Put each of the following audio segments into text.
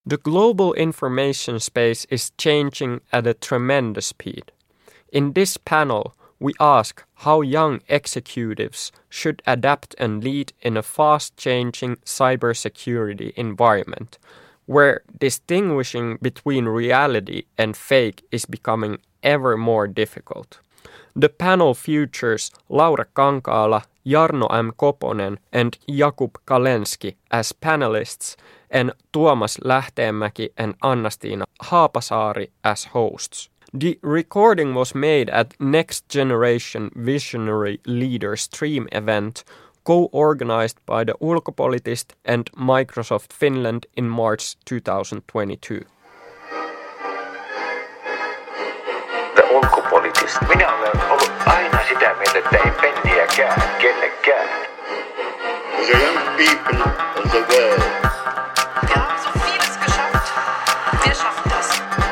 The global information space is changing at a tremendous speed. In this panel, we ask how young executives should adapt and lead in a fast-changing cybersecurity environment, where distinguishing between reality and fake is becoming ever more difficult. The panel features Laura Kankaala, Jarno M. Koponen and Jakub Kalenski as panelists and Tuomas Lähteenmäki and Anna-Stiina Haapasaari as hosts. The recording was made at Next Generation Visionary Leader Stream event co-organized by the Ulkopoliittista and Microsoft Finland in March 2022. The Ulkopoliittista. Minä olen ollut aina sitä mieltä, että ei penniäkään kellekään. The young people of the world. Wir haben so vieles geschafft. Wir schaffen das.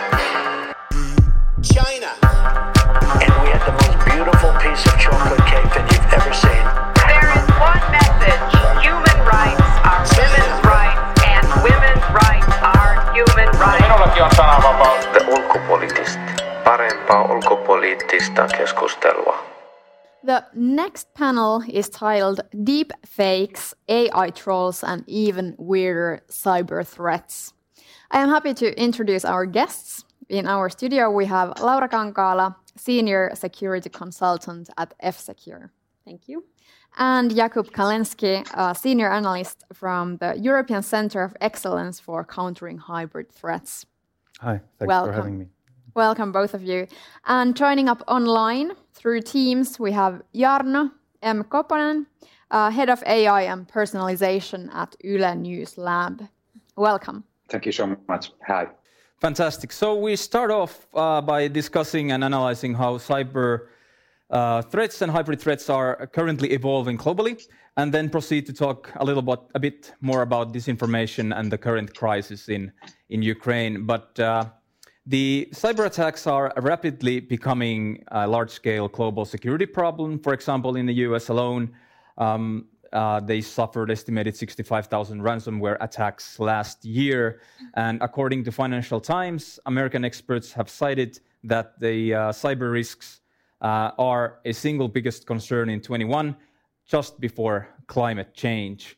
China. And we had the most beautiful piece of chocolate cake that you've ever seen. There is one message. Human rights are women's rights and women's rights are human rights. Minullakin on sananvapaus. The Ulkopoliittista. Parempaa ulkopoliittista keskustelua. The next panel is titled Deep Fakes, AI Trolls and Even Weirder Cyber Threats. I am happy to introduce our guests. In our studio we have Laura Kankaala, Senior Security Consultant at F-Secure. Thank you. And Jakub Kalenski, a Senior Analyst from the European Centre of Excellence for Countering Hybrid Threats. Hi, thanks for having me. Welcome, both of you. And joining up online through Teams, we have Jarno M. Koponen, Head of AI and Personalization at Yle News Lab. Welcome. Thank you so much. Hi. Fantastic. So we start off by discussing and analyzing how cyber threats and hybrid threats are currently evolving globally, and then proceed to talk a bit more about disinformation and the current crisis in Ukraine. But the cyber attacks are rapidly becoming a large-scale global security problem. For example, in the US alone, they suffered estimated 65,000 ransomware attacks last year. And according to Financial Times, American experts have cited that the cyber risks are a single biggest concern in 21, just before climate change.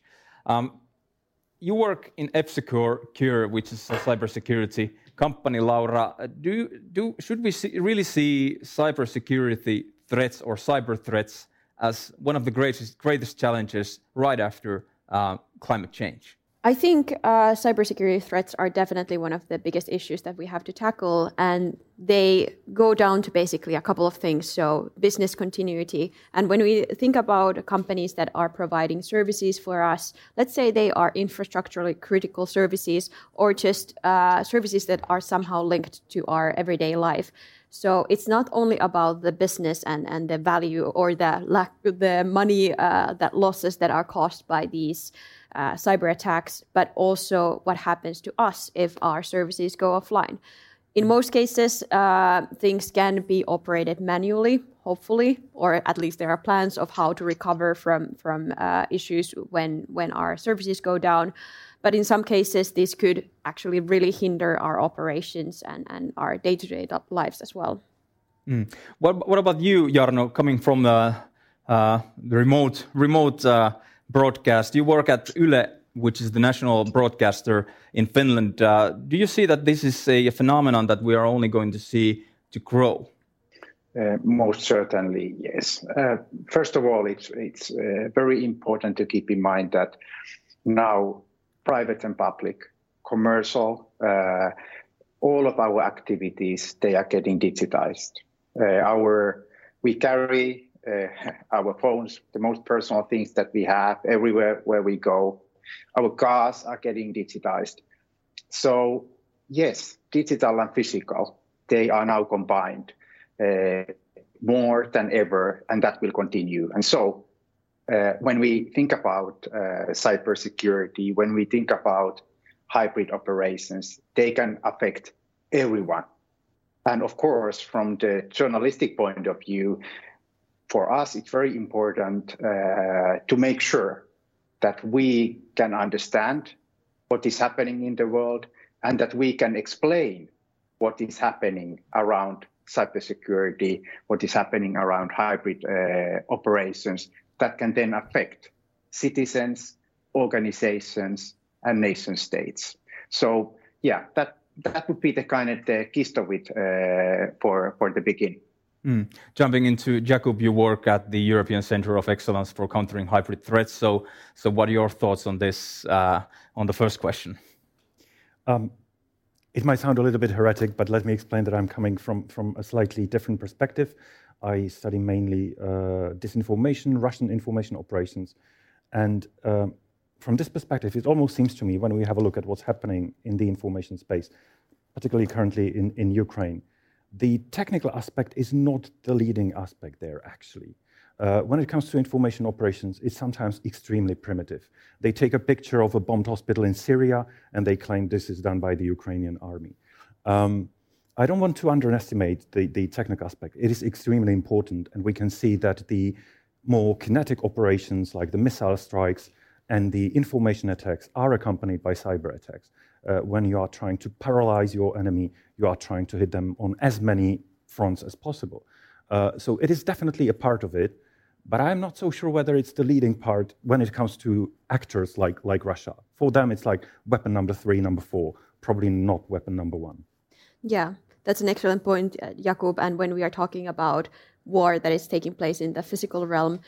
You work in F-Secure, which is a cybersecurity company, Laura. Should we really see cybersecurity threats or cyber threats as one of the greatest challenges right after climate change? I think cybersecurity threats are definitely one of the biggest issues that we have to tackle, and they go down to basically a couple of things. So business continuity, and when we think about companies that are providing services for us, let's say they are infrastructurally critical services or just services that are somehow linked to our everyday life. So it's not only about the business and the value or the money that losses that are caused by these cyber attacks, but also what happens to us if our services go offline. In most cases, things can be operated manually, hopefully, or at least there are plans of how to recover from issues when our services go down. But in some cases, this could actually really hinder our operations and our day-to-day lives as well. What about you, Jarno, coming from the remote broadcast? You work at Yle, which is the national broadcaster in Finland. Do you see that this is a phenomenon that we are only going to see to grow? Most certainly, yes. First of all, it's very important to keep in mind that now private and public, commercial, all of our activities, they are getting digitized. We carry our phones, the most personal things that we have everywhere where we go. Our cars are getting digitized. So yes, digital and physical, they are now combined more than ever, and that will continue. And so when we think about cybersecurity, when we think about hybrid operations, they can affect everyone. And of course, from the journalistic point of view, for us, it's very important to make sure that we can understand what is happening in the world, and that we can explain what is happening around cybersecurity, what is happening around hybrid operations that can then affect citizens, organizations, and nation states. So yeah, that would be the kind of the gist of it for the beginning. Jumping into Jakub, you work at the European Centre of Excellence for Countering Hybrid Threats. So what are your thoughts on this, on the first question? It might sound a little bit heretic, but let me explain that I'm coming from a slightly different perspective. I study mainly disinformation, Russian information operations. And from this perspective, it almost seems to me, when we have a look at what's happening in the information space, particularly currently in Ukraine, the technical aspect is not the leading aspect there, actually. When it comes to information operations, it's sometimes extremely primitive. They take a picture of a bombed hospital in Syria, and they claim this is done by the Ukrainian army. I don't want to underestimate the technical aspect. It is extremely important, and we can see that the more kinetic operations, like the missile strikes and the information attacks, are accompanied by cyber attacks. When you are trying to paralyze your enemy, you are trying to hit them on as many fronts as possible. So it is definitely a part of it, but I'm not so sure whether it's the leading part when it comes to actors like Russia. For them, it's like weapon number 3, number 4, probably not weapon number 1. Yeah, that's an excellent point, Jakub. And when we are talking about war that is taking place in the physical realm,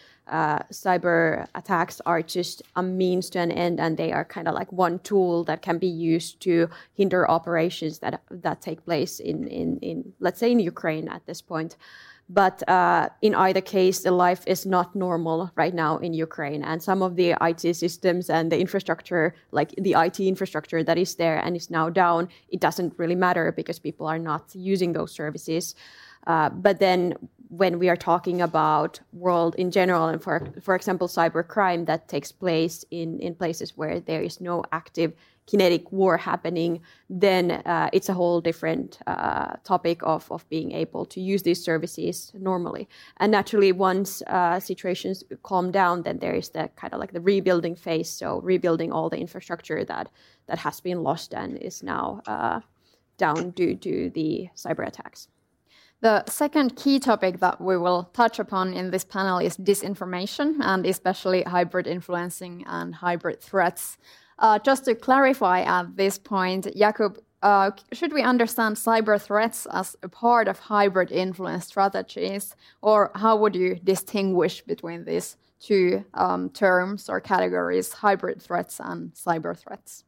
cyber attacks are just a means to an end, and they are kind of like one tool that can be used to hinder operations that take place in let's say in Ukraine at this point. But in either case, the life is not normal right now in Ukraine, and some of the IT systems and the infrastructure, like the IT infrastructure that is there and is now down, it doesn't really matter because people are not using those services. But then when we are talking about world in general, and for example, cybercrime that takes place in places where there is no active kinetic war happening, then it's a whole different topic of being able to use these services normally. And naturally, once situations calm down, then there is the kind of like the rebuilding phase. So rebuilding all the infrastructure that has been lost and is now down due to the cyber attacks. The second key topic that we will touch upon in this panel is disinformation, and especially hybrid influencing and hybrid threats. Just to clarify at this point, Jakub, should we understand cyber threats as a part of hybrid influence strategies, or how would you distinguish between these two terms or categories, hybrid threats and cyber threats?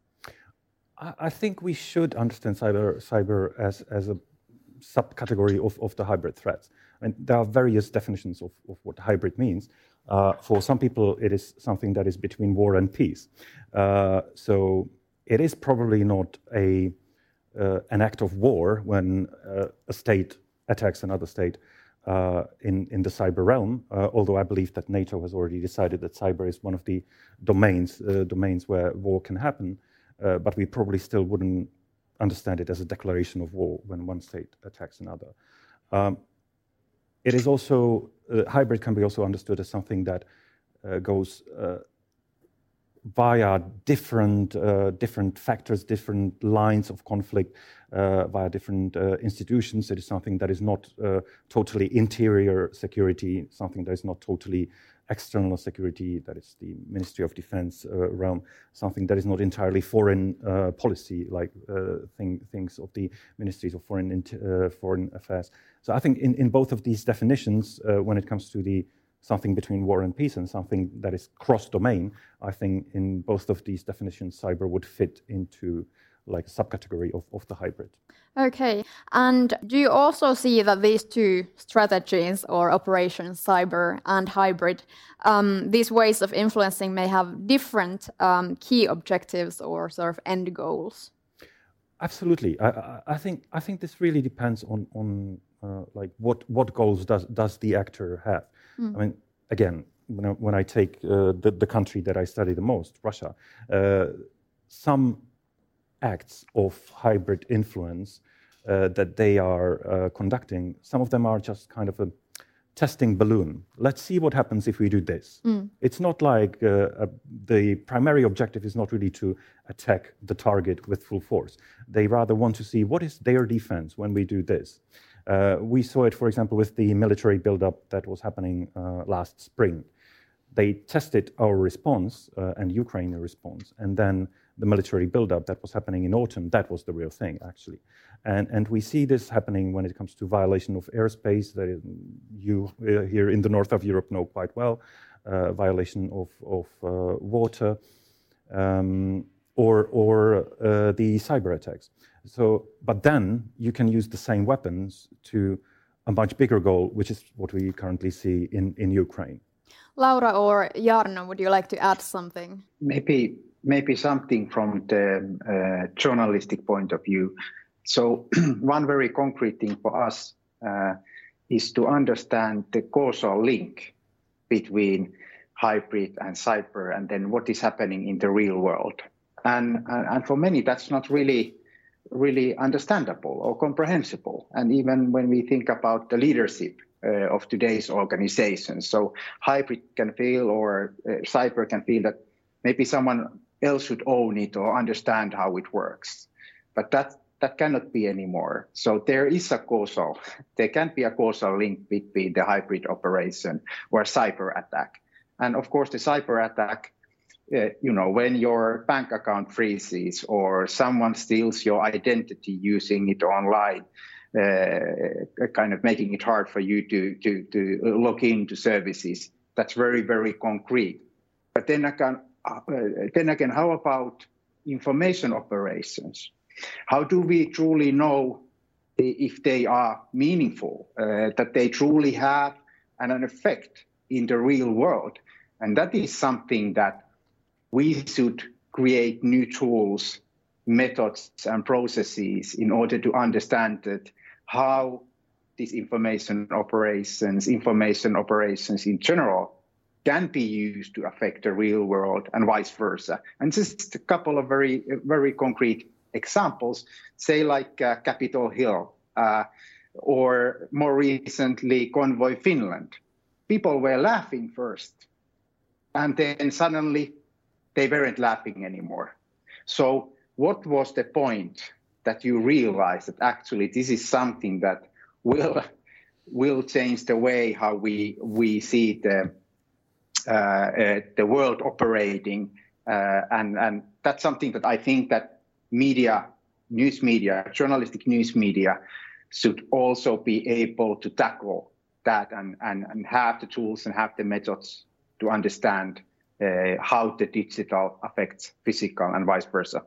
I think we should understand cyber as a subcategory of the hybrid threats. And there are various definitions of what hybrid means. For some people, it is something that is between war and peace. So it is probably not an act of war when a state attacks another state in the cyber realm, although I believe that NATO has already decided that cyber is one of the domains where war can happen, but we probably still wouldn't understand it as a declaration of war when one state attacks another. It is also, hybrid can be also understood as something that goes via different factors, different lines of conflict, via different institutions. It is something that is not totally interior security, something that is not totally external security, that is the Ministry of Defense realm, something that is not entirely foreign policy, like things of the Ministries of Foreign Affairs. So I think in both of these definitions, when it comes to the something between war and peace and something that is cross-domain, I think in both of these definitions, cyber would fit into like a subcategory of the hybrid. Okay, and do you also see that these two strategies or operations, cyber and hybrid, these ways of influencing may have different key objectives or sort of end goals? Absolutely. I think this really depends on like what goals does the actor have. I mean, again, when I take the country that I study the most, Russia, some acts of hybrid influence that they are conducting, some of them are just kind of testing balloon. Let's see what happens if we do this. It's not like the primary objective is not really to attack the target with full force. They rather want to see what is their defense when we do this. We saw it, for example, with the military buildup that was happening last spring. They tested our response and Ukraine's response, and then the military buildup that was happening in autumn, that was the real thing, actually. And we see this happening when it comes to violation of airspace that you here in the north of Europe know quite well, violation of water, or the cyber attacks. So, but then you can use the same weapons to a much bigger goal, which is what we currently see in Ukraine. Laura or Jarno, would you like to add something? Maybe something from the journalistic point of view. So one very concrete thing for us is to understand the causal link between hybrid and cyber, and then what is happening in the real world. And for many, that's not really understandable or comprehensible. And even when we think about the leadership of today's organizations, so hybrid can feel, or cyber can feel that maybe someone else should own it or understand how it works. But that cannot be anymore. So there can be a causal link between the hybrid operation or cyber attack. And of course, the cyber attack, when your bank account freezes or someone steals your identity using it online, kind of making it hard for you to log into services, that's very, very concrete. But then again, how about information operations? How do we truly know if they are meaningful, that they truly have an effect in the real world? And that is something that we should create new tools, methods, and processes in order to understand that how these information operations in general can be used to affect the real world and vice versa. And just a couple of very, very concrete examples, say like Capitol Hill or more recently Convoy Finland. People were laughing first, and then suddenly they weren't laughing anymore. So what was the point that you realized that actually this is something that will change the way how we see the world operating, and that's something that I think that journalistic news media should also be able to tackle that and have the tools and have the methods to understand how the digital affects physical and vice versa.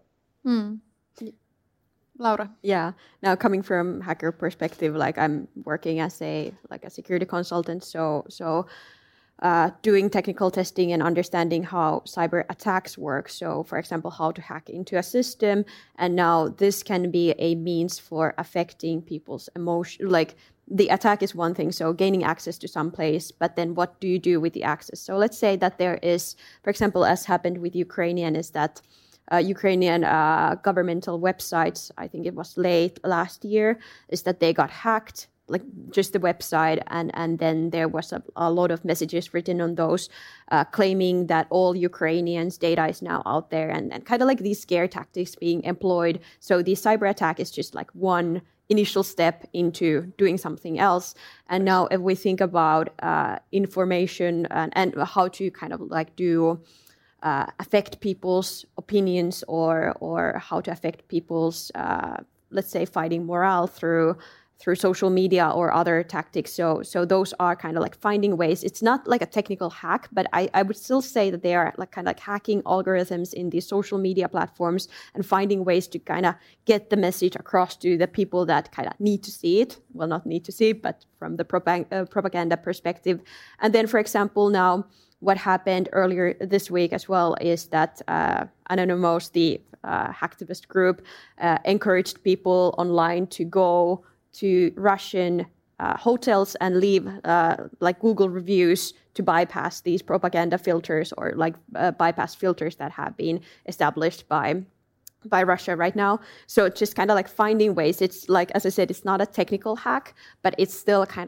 Laura? Yeah. Now, coming from hacker perspective, like I'm working as a security consultant, so doing technical testing and understanding how cyber attacks work. So, for example, how to hack into a system, and now this can be a means for affecting people's emotion. Like the attack is one thing, so gaining access to some place, but then what do you do with the access? So let's say that there is, for example, as happened with Ukrainian, is that Ukrainian governmental websites, I think it was late last year, is that they got hacked, like just the website, and then there was a lot of messages written on those claiming that all Ukrainians' data is now out there, and kind of like these scare tactics being employed. So the cyber attack is just like one initial step into doing something else. And now if we think about information and how to kind of like do affect people's opinions or how to affect people's, let's say, fighting morale through social media or other tactics. So those are kind of like finding ways. It's not like a technical hack, but I would still say that they are like kind of like hacking algorithms in these social media platforms and finding ways to kind of get the message across to the people that kind of need to see it. Well, not need to see it, but from the propaganda perspective. And then, for example, now what happened earlier this week as well is that Anonymous, the hacktivist group, encouraged people online to go to Russian hotels and leave like Google reviews to bypass these propaganda filters or like bypass filters that have been established by Russia right now. So it's just kind of like finding ways. It's like, as I said, it's not a technical hack, but it's still kind of like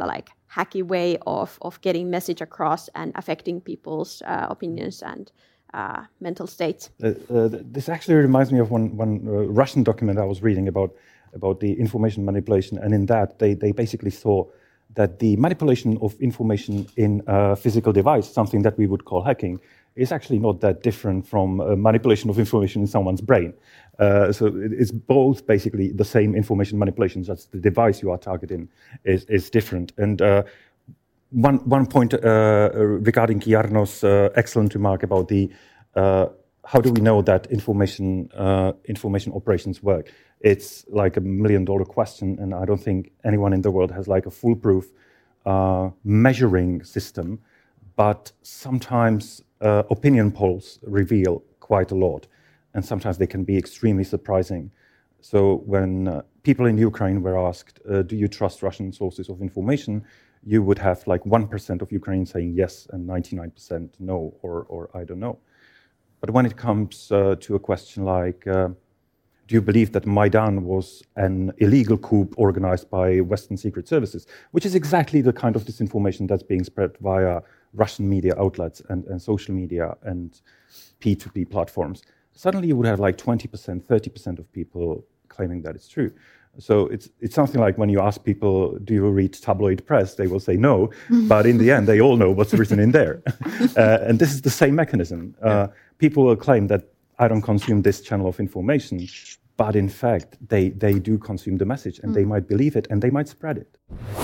hacky way of getting message across and affecting people's opinions and mental states. This actually reminds me of one Russian document I was reading about the information manipulation, and in that they basically saw that the manipulation of information in a physical device, something that we would call hacking, is actually not that different from manipulation of information in someone's brain. So it's both basically the same information manipulation, just the device you are targeting is different. And one point regarding Jarno's excellent remark about the how do we know that information operations work? It's like $1 million question, and I don't think anyone in the world has like a foolproof measuring system. But sometimes opinion polls reveal quite a lot, and sometimes they can be extremely surprising. So when people in Ukraine were asked, do you trust Russian sources of information, you would have like 1% of Ukrainians saying yes and 99% no, or I don't know. But when it comes to a question like, do you believe that Maidan was an illegal coup organized by Western secret services, which is exactly the kind of disinformation that's being spread via Russian media outlets and social media and P2P platforms, suddenly you would have like 20%, 30% of people claiming that it's true. So it's something like when you ask people, do you read tabloid press? They will say no, but in the end, they all know what's written in there. And this is the same mechanism. People will claim that I don't consume this channel of information, but in fact, they do consume the message, and they might believe it, and they might spread it.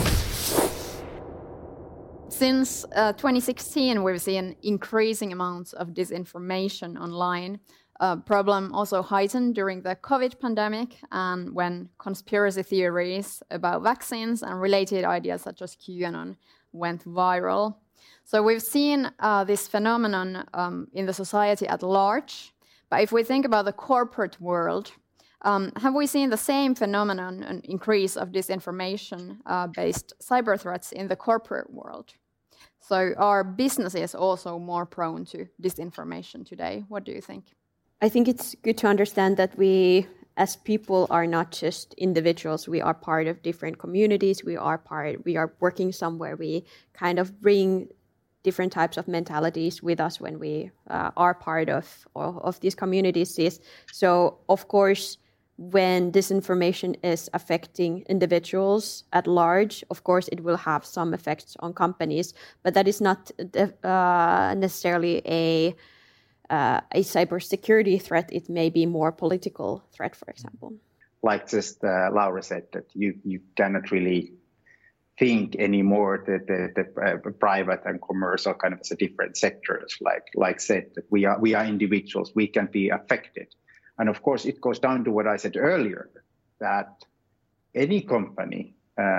Since 2016, we've seen increasing amounts of disinformation online. Problem also heightened during the COVID pandemic and when conspiracy theories about vaccines and related ideas such as QAnon went viral. So we've seen this phenomenon in the society at large. But if we think about the corporate world, have we seen the same phenomenon, an increase of disinformation-based cyber threats in the corporate world? So are businesses also more prone to disinformation today? What do you think? I think it's good to understand that we, as people, are not just individuals. We are part of different communities. We are working somewhere. We kind of bring different types of mentalities with us when we are part of these communities. So, of course, when disinformation is affecting individuals at large, of course, it will have some effects on companies, but that is not necessarily a cybersecurity threat. It may be more political threat, for example. Like just Laura said, that you cannot really think anymore that the private and commercial kind of as a different sectors. Like said, that we are individuals, we can be affected. And of course, it goes down to what I said earlier, that any company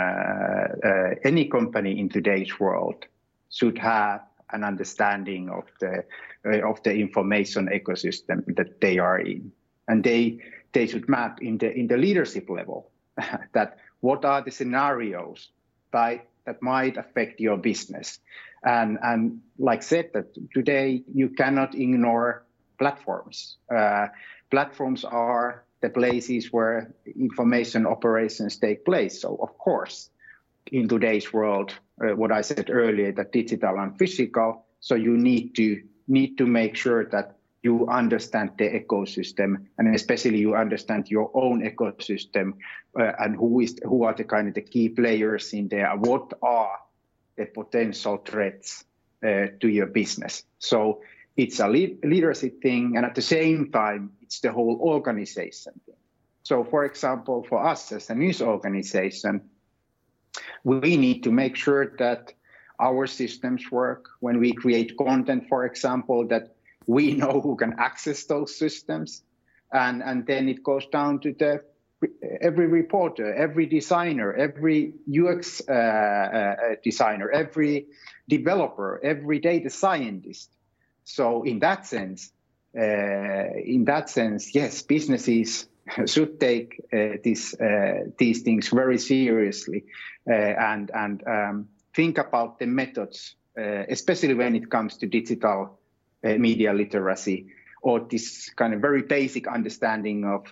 in today's world should have an understanding of the information ecosystem that they are in, and they should map in the leadership level that what are the scenarios that might affect your business, and like said, that today you cannot ignore platforms. Platforms are the places where information operations take place. So of course, in today's world, what I said earlier, that digital and physical, so you need to make sure that you understand the ecosystem, and especially you understand your own ecosystem, and who are the kind of the key players in there, what are the potential threats to your business. So it's a leadership thing, and at the same time, it's the whole organization thing. So for example, for us as a news organization, we need to make sure that our systems work. When we create content, for example, that we know who can access those systems. And then it goes down to every reporter, every designer, every UX designer, every developer, every data scientist. So in that sense, yes, businesses should take these things very seriously and think about the methods, especially when it comes to digital media literacy or this kind of very basic understanding of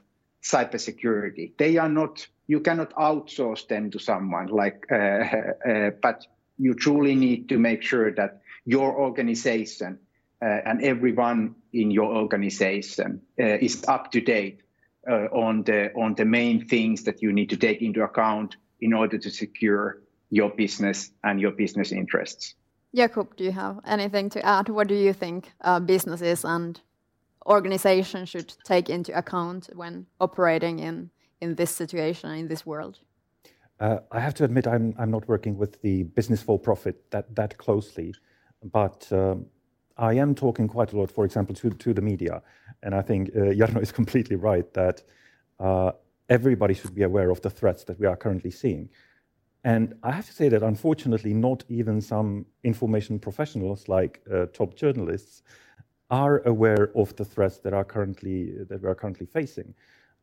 cybersecurity. They are not, you cannot outsource them to someone but you truly need to make sure that your organization and everyone in your organization is up to date on the main things that you need to take into account in order to secure your business and your business interests. Jakub, do you have anything to add? What do you think businesses and organizations should take into account when operating in this situation, in this world? I have to admit, I'm not working with the business for profit that closely, but I am talking quite a lot, for example, to the media. And I think Jarno is completely right that everybody should be aware of the threats that we are currently seeing. And I have to say that unfortunately, not even some information professionals like top journalists are aware of the threats that we are currently facing.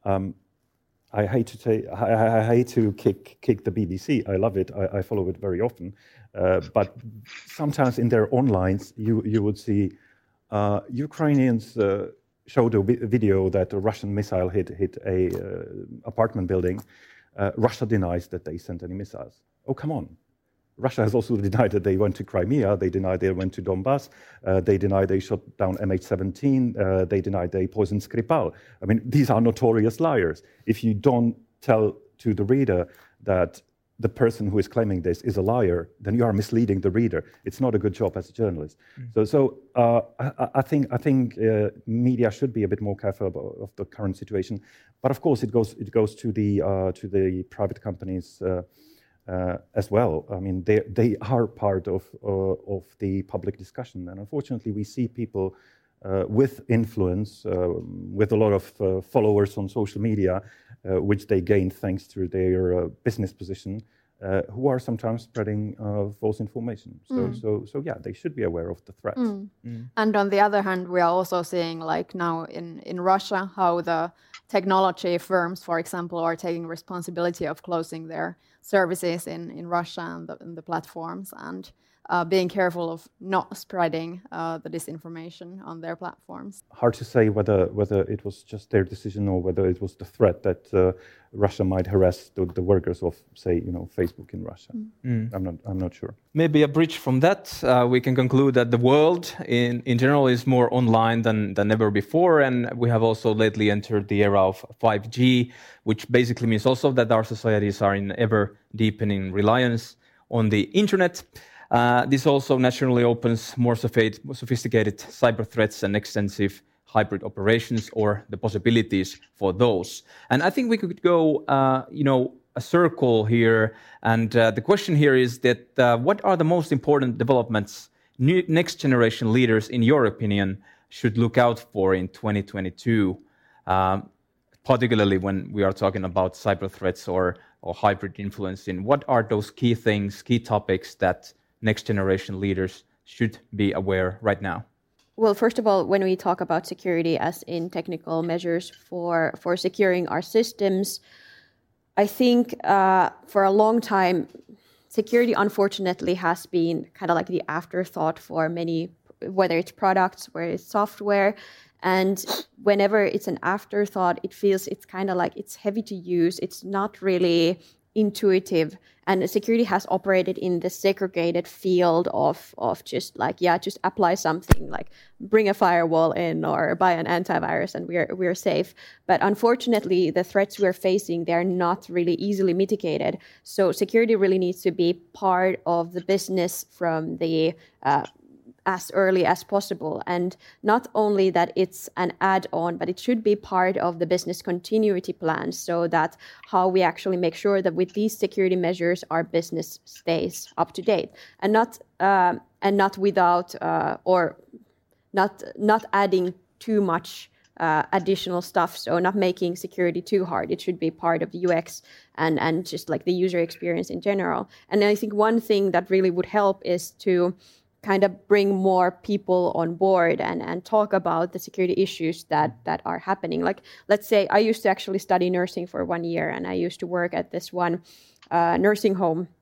I hate to kick the BBC. I love it. I follow it very often. But sometimes in their onlines, you would see Ukrainians showed a video that a Russian missile hit a apartment building. Russia denies that they sent any missiles. Oh, come on. Russia has also denied that they went to Crimea. They denied they went to Donbass. They denied they shot down MH17. They denied they poisoned Skripal. I mean, these are notorious liars. If you don't tell to the reader that the person who is claiming this is a liar, then you are misleading the reader. It's not a good job as a journalist. So I think media should be a bit more careful of the current situation. But of course, it goes to the private companies as well. I mean, they are part of the public discussion, and unfortunately, we see people with influence, with a lot of followers on social media, which they gained thanks to their business position, who are sometimes spreading false information. So yeah, they should be aware of the threats. And on the other hand, we are also seeing, like now in Russia, how the technology firms, for example, are taking responsibility of closing their services in Russia and the platforms, and being careful of not spreading the disinformation on their platforms. Hard to say whether it was just their decision or whether it was the threat that Russia might harass the workers of, say, Facebook in Russia. I'm not sure. Maybe a bridge from that, we can conclude that the world in general is more online than ever before, and we have also lately entered the era of 5G, which basically means also that our societies are in ever deepening reliance on the internet. This also naturally opens more sophisticated cyber threats and extensive hybrid operations, or the possibilities for those. And I think we could go, a circle here. And the question here is that what are the most important developments next generation leaders, in your opinion, should look out for in 2022, particularly when we are talking about cyber threats or hybrid influencing? What are those key things, key topics that next generation leaders should be aware right now? Well, first of all, when we talk about security as in technical measures for securing our systems, I think for a long time, security unfortunately has been kind of like the afterthought for many, whether it's products, whether it's software. And whenever it's an afterthought, it's kind of like it's heavy to use. It's not really intuitive, and security has operated in the segregated field of just apply something, like bring a firewall in or buy an antivirus and we're safe. But unfortunately, the threats we're facing, they're not really easily mitigated. So security really needs to be part of the business from the as early as possible. And not only that it's an add-on, but it should be part of the business continuity plan, so that how we actually make sure that with these security measures, our business stays up to date, and not without or not adding too much additional stuff. So not making security too hard. It should be part of the UX and just like the user experience in general. And I think one thing that really would help is to kind of bring more people on board and talk about the security issues that are happening. Like, let's say I used to actually study nursing for 1 year, and I used to work at this one nursing home.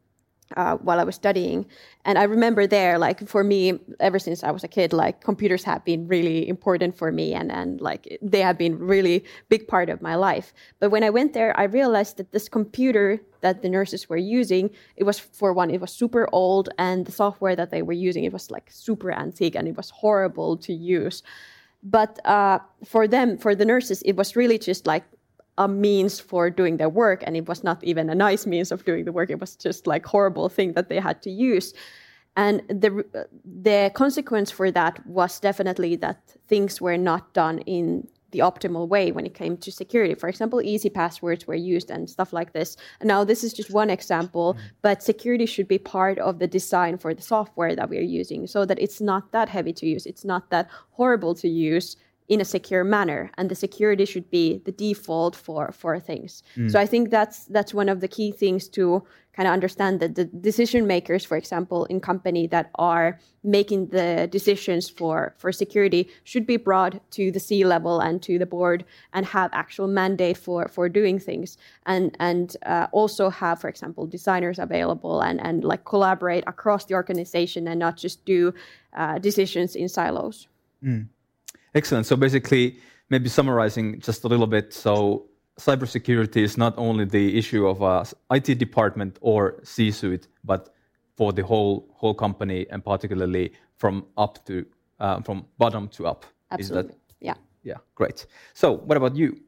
while I was studying. And I remember there, like for me, ever since I was a kid, like computers have been really important for me and like they have been really big part of my life. But when I went there, I realized that this computer that the nurses were using, it was, for one, it was super old, and the software that they were using, it was like super antique and it was horrible to use. But for them, for the nurses, it was really just like a means for doing their work, and it was not even a nice means of doing the work. It was just like horrible thing that they had to use. And the consequence for that was definitely that things were not done in the optimal way when it came to security. For example, easy passwords were used and stuff like this. And now this is just one example, but security should be part of the design for the software that we are using so that it's not that heavy to use. It's not that horrible to use in a secure manner, and the security should be the default for things. So I think that's one of the key things to kind of understand, that the decision makers, for example, in company that are making the decisions for security should be brought to the C-level and to the board and have actual mandate for doing things, and also have, for example, designers available and like collaborate across the organization and not just do decisions in silos. Excellent. So basically, maybe summarizing just a little bit, so cybersecurity is not only the issue of a IT department or C-suite, but for the whole company, and particularly from bottom to up. Absolutely. Yeah, great. So what about you?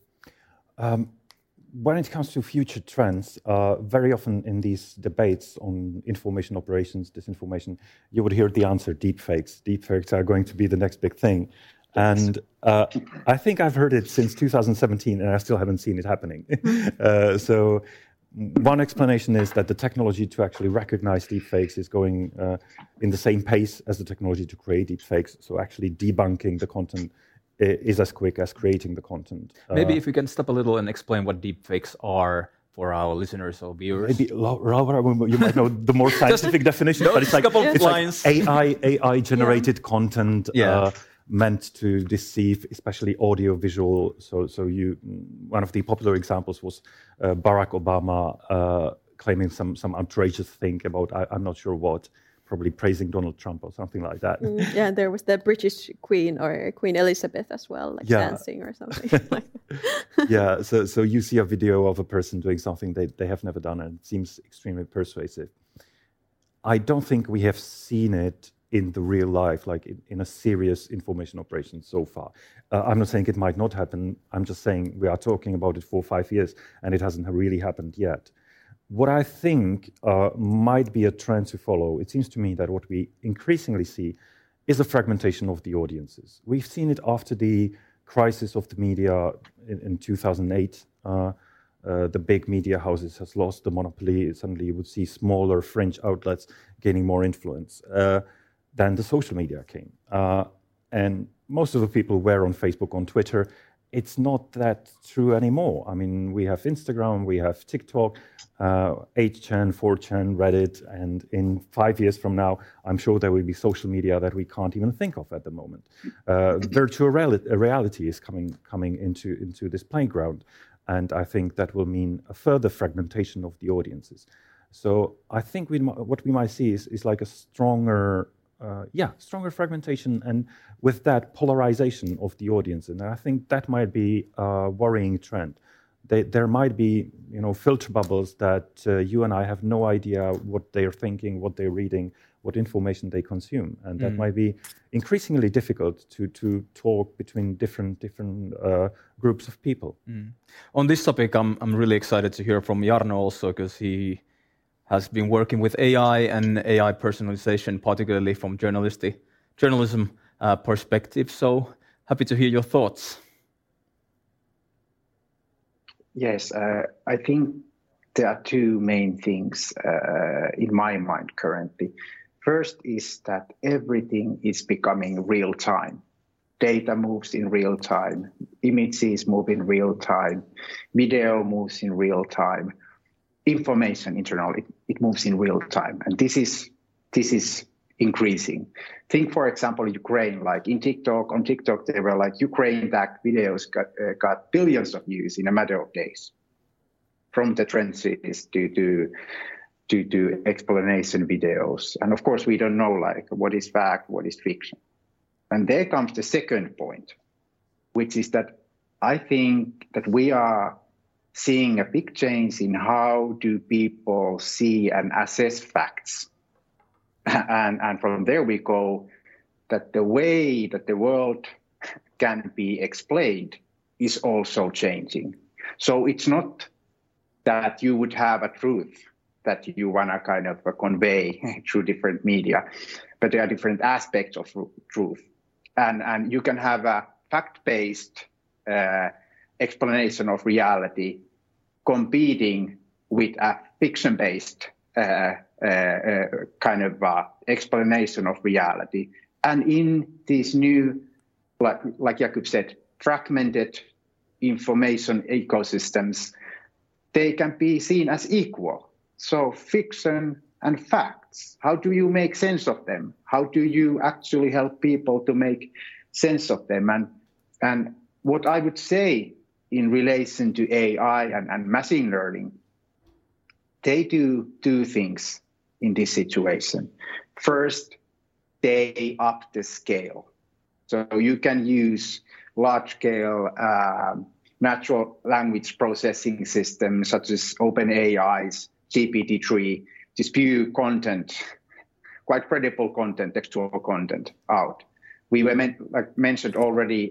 When it comes to future trends, very often in these debates on information operations, disinformation, you would hear the answer, deepfakes. Deepfakes are going to be the next big thing. And I think I've heard it since 2017, and I still haven't seen it happening. So one explanation is that the technology to actually recognize deepfakes is going in the same pace as the technology to create deepfakes. So actually debunking the content is as quick as creating the content. Maybe if you can stop a little and explain what deepfakes are for our listeners or viewers. Maybe Laura, you might know the more scientific definition, but it's like, AI generated content meant to deceive, especially audio-visual. So one of the popular examples was Barack Obama claiming some outrageous thing about I'm not sure what, probably praising Donald Trump or something like that. Yeah, there was the British Queen or Queen Elizabeth as well, like dancing or something. Yeah, so you see a video of a person doing something they have never done, and it seems extremely persuasive. I don't think we have seen it in the real life, like in a serious information operation so far. I'm not saying it might not happen. I'm just saying we are talking about it for 5 years, and it hasn't really happened yet. What I think might be a trend to follow, it seems to me that what we increasingly see is a fragmentation of the audiences. We've seen it after the crisis of the media in 2008. The big media houses has lost the monopoly. Suddenly you would see smaller fringe outlets gaining more influence. Then the social media came. And most of the people were on Facebook, on Twitter. It's not that true anymore. I mean, we have Instagram, we have TikTok, 8chan, 4chan, Reddit, and in 5 years from now, I'm sure there will be social media that we can't even think of at the moment. Virtual reality is coming into this playground, and I think that will mean a further fragmentation of the audiences. So I think what we might see is like a stronger fragmentation, and with that polarization of the audience. And I think that might be a worrying trend. There might be, filter bubbles that you and I have no idea what they're thinking, what they're reading, what information they consume, and that might be increasingly difficult to talk between different groups of people. On this topic, I'm really excited to hear from Jarno also, because he has been working with AI and AI personalization, particularly from journalism perspective. So happy to hear your thoughts. Yes, I think there are two main things in my mind currently. First is that everything is becoming real time. Data moves in real time, images move in real time, video moves in real time, information internally, it moves in real time. And this is increasing. Think, for example, Ukraine, like on TikTok, they were like Ukraine-backed videos got billions of views in a matter of days. From the trenches to to do explanation videos. And of course, we don't know like what is fact, what is fiction. And there comes the second point, which is that I think that we are seeing a big change in how do people see and assess facts. And from there we go that the way that the world can be explained is also changing. So it's not that you would have a truth that you want to kind of convey through different media, but there are different aspects of truth. And you can have a fact-based explanation of reality competing with a fiction-based kind of explanation of reality. And in these new, like Jakub said, fragmented information ecosystems, they can be seen as equal. So fiction and facts, how do you make sense of them? How do you actually help people to make sense of them? And what I would say in relation to AI and machine learning, they do two things in this situation. First, they up the scale. So you can use large-scale natural language processing systems such as OpenAI's GPT-3 to spew content, quite credible content, textual content out. We were mentioned already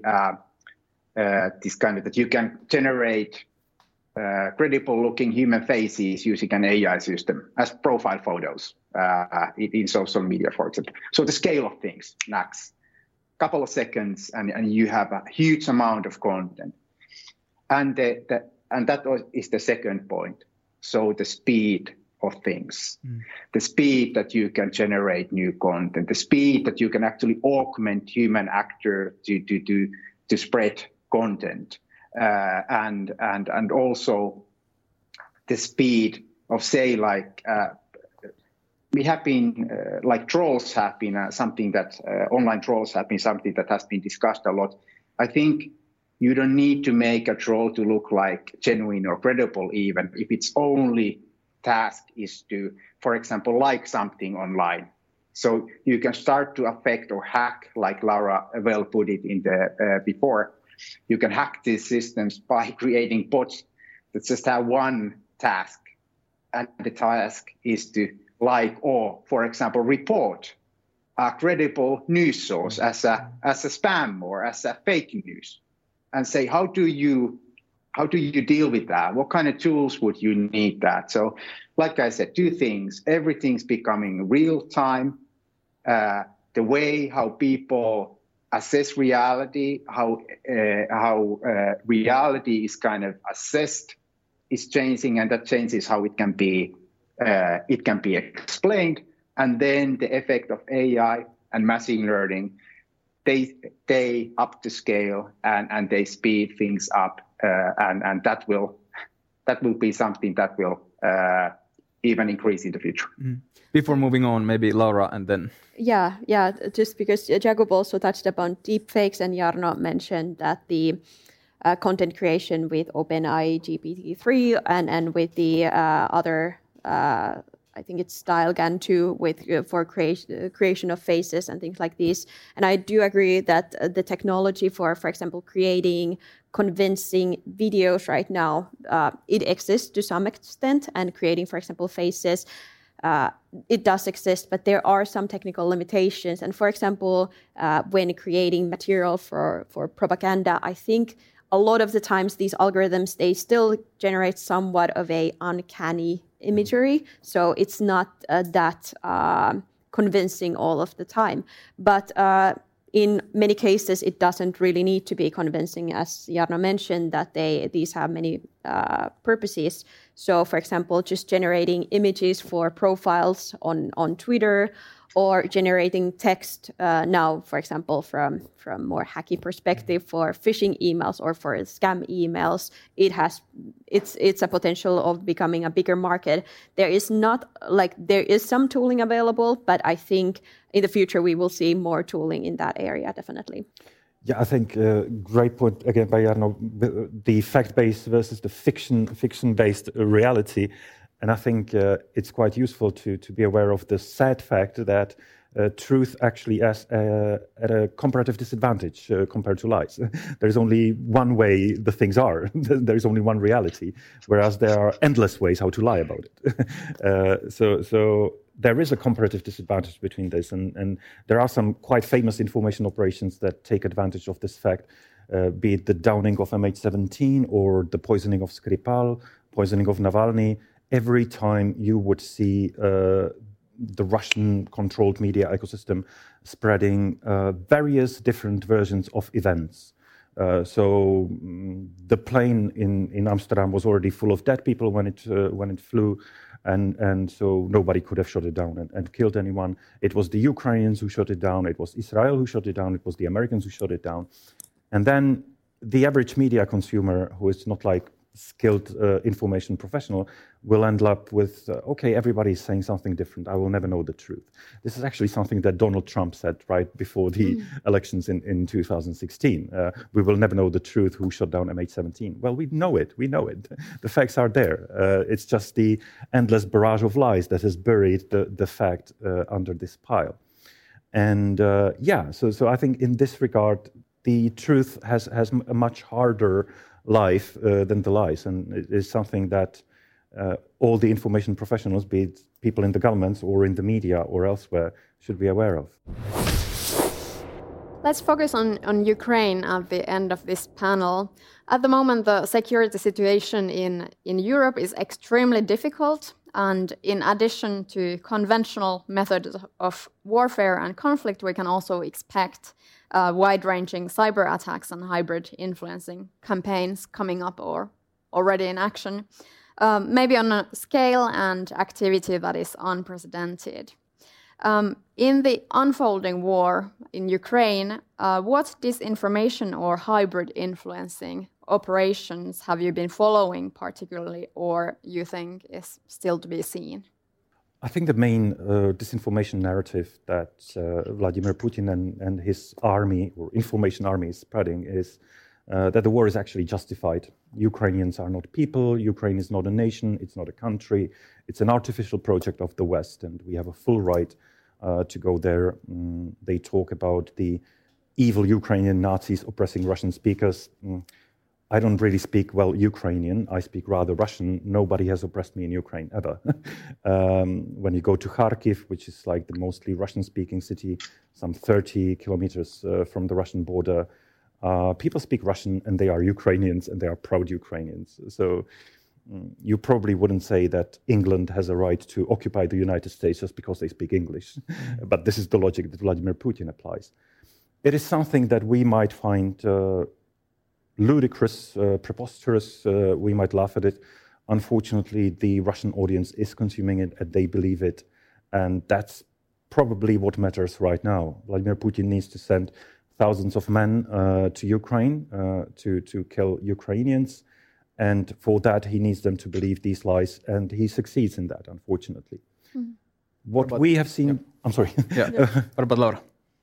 this kind of that you can generate credible-looking human faces using an AI system as profile photos in social media, for example. So the scale of things, max, couple of seconds, and you have a huge amount of content. And that is the second point. So the speed of things, the speed that you can generate new content, the speed that you can actually augment human actor to spread content, and also the speed of, say, like we have been like trolls have been something that online trolls have been something that has been discussed a lot. I think you don't need to make a troll to look like genuine or credible, even if its only task is to, for example, like something online. So you can start to affect or hack, like Laura well put it in the before. You can hack these systems by creating bots that just have one task, and the task is to like or, for example, report a credible news source as a spam or as a fake news, and say how do you deal with that? What kind of tools would you need that? So, like I said, two things: everything's becoming real time. The way how people assess reality, how reality is kind of assessed, is changing, and that changes how it can be explained. And then the effect of AI and machine learning, they up the scale and they speed things up, and that will be something that will even increase in the future. Before moving on, maybe Laura and then. Yeah. Just because Jakub also touched upon deepfakes, and Jarno mentioned that the content creation with OpenAI GPT-3 and with the other, I think it's StyleGAN 2 with for creation of faces and things like this. And I do agree that the technology for example, creating convincing videos right now, it exists to some extent, and creating, for example, faces, it does exist, but there are some technical limitations. And for example, when creating material for propaganda, I think a lot of the times these algorithms, they still generate somewhat of a uncanny imagery. So it's not that convincing all of the time. But in many cases, it doesn't really need to be convincing, as Jarno mentioned, that these have many purposes. So, for example, just generating images for profiles on Twitter, or generating text now, for example, from more hacky perspective for phishing emails or for scam emails, it's a potential of becoming a bigger market. There is some tooling available, but I think in the future we will see more tooling in that area, definitely. Yeah, I think great point again by Jarno, the fact-based versus the fiction-based reality. And I think it's quite useful to be aware of the sad fact that truth actually is at a comparative disadvantage compared to lies. There's only one way the things are. There's only one reality, whereas there are endless ways how to lie about it. So there is a comparative disadvantage between this, and there are some quite famous information operations that take advantage of this fact, be it the downing of MH17 or the poisoning of Skripal, poisoning of Navalny. Every time you would see the Russian-controlled media ecosystem spreading various different versions of events. So the plane in Amsterdam was already full of dead people when it flew, and so nobody could have shot it down and killed anyone. It was the Ukrainians who shot it down. It was Israel who shot it down. It was the Americans who shot it down. And then the average media consumer, who is not like skilled information professional, will end up with, okay, everybody's saying something different. I will never know the truth. This is actually something that Donald Trump said right before the elections in 2016. We will never know the truth who shot down MH17. Well, we know it. The facts are there. It's just the endless barrage of lies that has buried the fact under this pile. And so I think in this regard, the truth has a much harder life than the lies, and it is something that all the information professionals, be it people in the governments or in the media or elsewhere, should be aware of. Let's focus on Ukraine at the end of this panel. At the moment, the security situation in Europe is extremely difficult, and in addition to conventional methods of warfare and conflict, we can also expect wide-ranging cyber attacks and hybrid influencing campaigns coming up or already in action, maybe on a scale and activity that is unprecedented. In the unfolding war in Ukraine, what disinformation or hybrid influencing operations have you been following particularly, or you think is still to be seen? I think the main disinformation narrative that Vladimir Putin and his army or information army is spreading is that the war is actually justified. Ukrainians are not people, Ukraine is not a nation, it's not a country, it's an artificial project of the West, and we have a full right to go there. They talk about the evil Ukrainian Nazis oppressing Russian speakers. I don't really speak well Ukrainian, I speak rather Russian. Nobody has oppressed me in Ukraine, ever. When you go to Kharkiv, which is like the mostly Russian-speaking city, some 30 kilometers from the Russian border, people speak Russian and they are Ukrainians and they are proud Ukrainians. So you probably wouldn't say that England has a right to occupy the United States just because they speak English. But this is the logic that Vladimir Putin applies. It is something that we might find ludicrous, preposterous, we might laugh at it. Unfortunately, the Russian audience is consuming it and they believe it. And that's probably what matters right now. Vladimir Putin needs to send thousands of men to Ukraine to kill Ukrainians. And for that, he needs them to believe these lies. And he succeeds in that, unfortunately. Mm-hmm. What we have seen... Yeah. I'm sorry. What about Laura?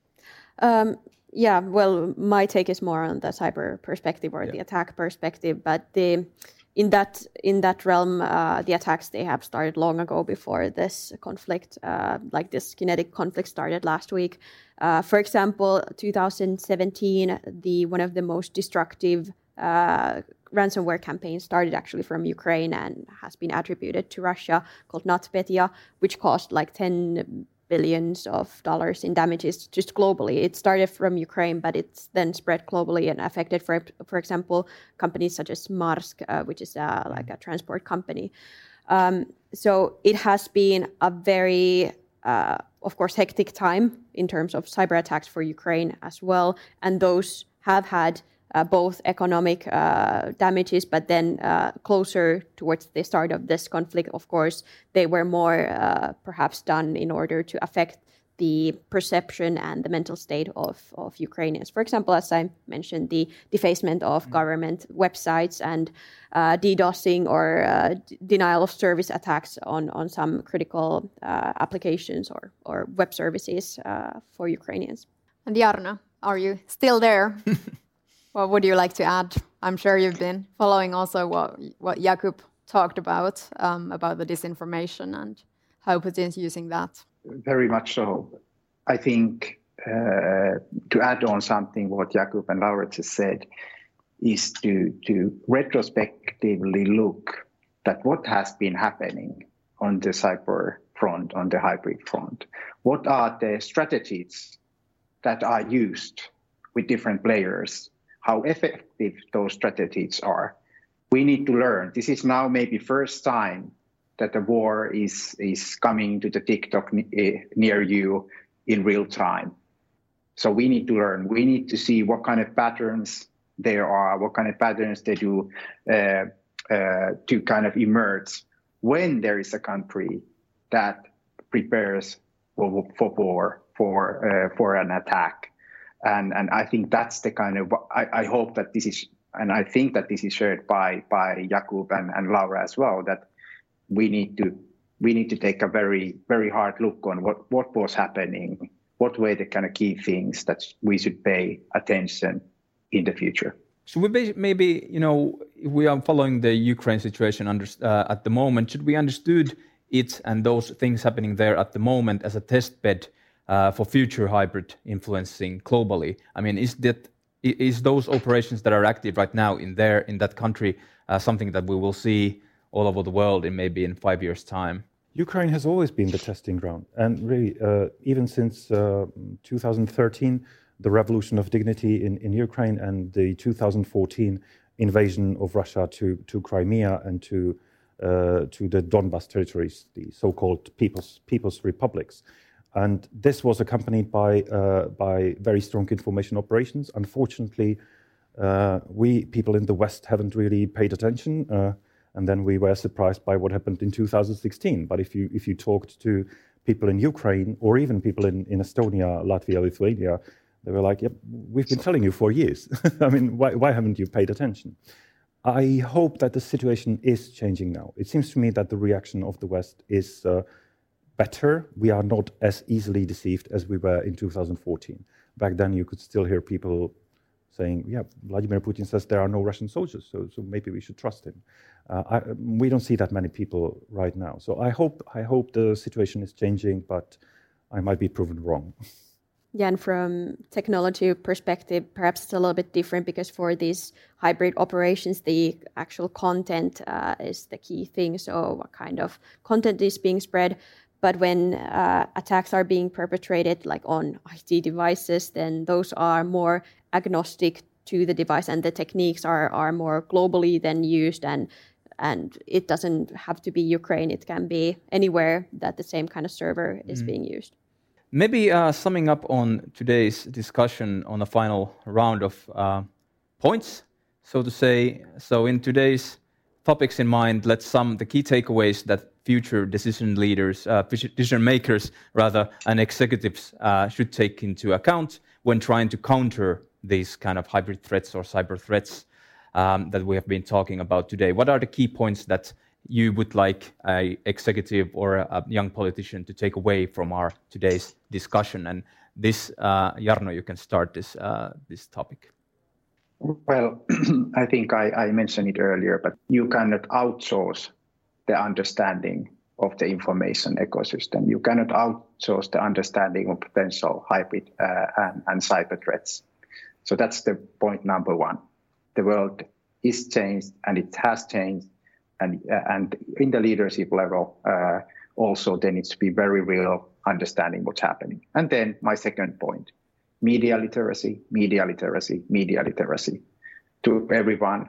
Yeah, well, my take is more on the cyber perspective or the attack perspective, but in that realm, the attacks, they have started long ago before this conflict, like this kinetic conflict started last week. For example, 2017, one of the most destructive ransomware campaigns started actually from Ukraine and has been attributed to Russia, called NotPetya, which cost like $10 billion in damages just globally. It started from Ukraine, but it's then spread globally and affected, for example, companies such as Maersk, which is like a transport company. So it has been a very, of course, hectic time in terms of cyber attacks for Ukraine as well. And those have had both economic damages, but then closer towards the start of this conflict, of course, they were more perhaps done in order to affect the perception and the mental state of Ukrainians. For example, as I mentioned, the defacement of government websites and DDoSing or denial of service attacks on some critical applications or web services for Ukrainians. And Jarno, are you still there? What would you like to add? I'm sure you've been following also what Jakub talked about the disinformation and how Putin's using that. Very much so. I think to add on something what Jakub and Laura just said is to retrospectively look at what has been happening on the cyber front, on the hybrid front. What are the strategies that are used with different players? How effective those strategies are? We need to learn. This is now maybe first time that the war is coming to the TikTok near you in real time. So we need to learn. We need to see what kind of patterns there are, what kind of patterns they do to kind of emerge when there is a country that prepares for an attack. And I think that's the kind of, I hope that this is, and I think that this is shared by Jakub and Laura as well, that we need to take a very, very hard look on what was happening, what were the kind of key things that we should pay attention in the future. Should we maybe, if we are following the Ukraine situation at the moment, should we understood it and those things happening there at the moment as a test bed for future hybrid influencing globally? I mean, is those operations that are active right now in that country something that we will see all over the world in 5 years' time? Ukraine has always been the testing ground, and really, even since 2013, the revolution of dignity in Ukraine and the 2014 invasion of Russia to Crimea and to the Donbas territories, the so-called people's republics. And this was accompanied by very strong information operations. Unfortunately, we people in the West haven't really paid attention, and then we were surprised by what happened in 2016. But if you talked to people in Ukraine or even people in Estonia, Latvia, Lithuania, they were like, "Yep, we've been telling you for years. I mean, why haven't you paid attention?" I hope that the situation is changing now. It seems to me that the reaction of the West is better. We are not as easily deceived as we were in 2014. Back then, you could still hear people saying, "Yeah, Vladimir Putin says there are no Russian soldiers, so maybe we should trust him." We don't see that many people right now. So I hope the situation is changing, but I might be proven wrong. Yeah, and from technology perspective, perhaps it's a little bit different because for these hybrid operations, the actual content is the key thing. So what kind of content is being spread? But when attacks are being perpetrated like on IT devices, then those are more agnostic to the device, and the techniques are more globally then used, and it doesn't have to be Ukraine. It can be anywhere that the same kind of server is being used. Maybe summing up on today's discussion on a final round of points, so to say. So in today's topics in mind, let's sum the key takeaways that future decision makers, and executives should take into account when trying to counter these kind of hybrid threats or cyber threats that we have been talking about today. What are the key points that you would like an executive or a young politician to take away from our today's discussion? And this, Jarno, you can start this topic. Well, I think I mentioned it earlier, but you cannot outsource the understanding of the information ecosystem. You cannot outsource the understanding of potential hybrid and cyber threats. So that's the point number one. The world is changed, and it has changed. And in the leadership level, also there needs to be very real understanding what's happening. And then my second point, media literacy to everyone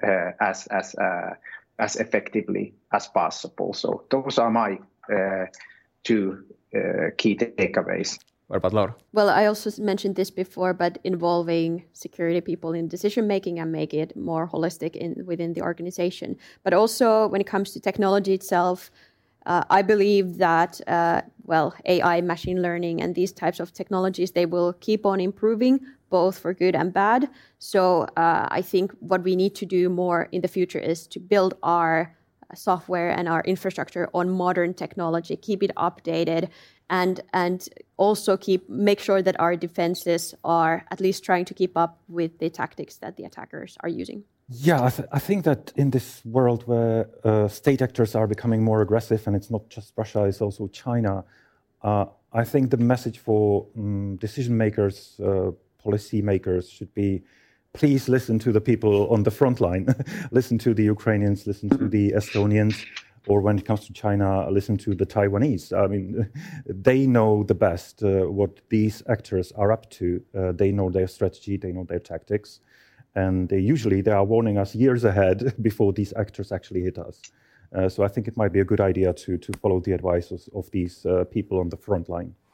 as effectively as possible. So those are my two key takeaways. What about Laura? Well, I also mentioned this before, but involving security people in decision making and make it more holistic within the organization. But also when it comes to technology itself, I believe that AI, machine learning, and these types of technologies, they will keep on improving, both for good and bad. So I think what we need to do more in the future is to build our software and our infrastructure on modern technology, keep it updated, and also make sure that our defenses are at least trying to keep up with the tactics that the attackers are using. Yeah, I think that in this world where state actors are becoming more aggressive, and it's not just Russia, it's also China, I think the message for decision makers, policy makers should be, please listen to the people on the front line. Listen to the Ukrainians, listen to the Estonians, or when it comes to China, listen to the Taiwanese. I mean, they know the best what these actors are up to. They know their strategy, they know their tactics. And usually they are warning us years ahead before these actors actually hit us. So I think it might be a good idea to follow the advice of these people on the front line.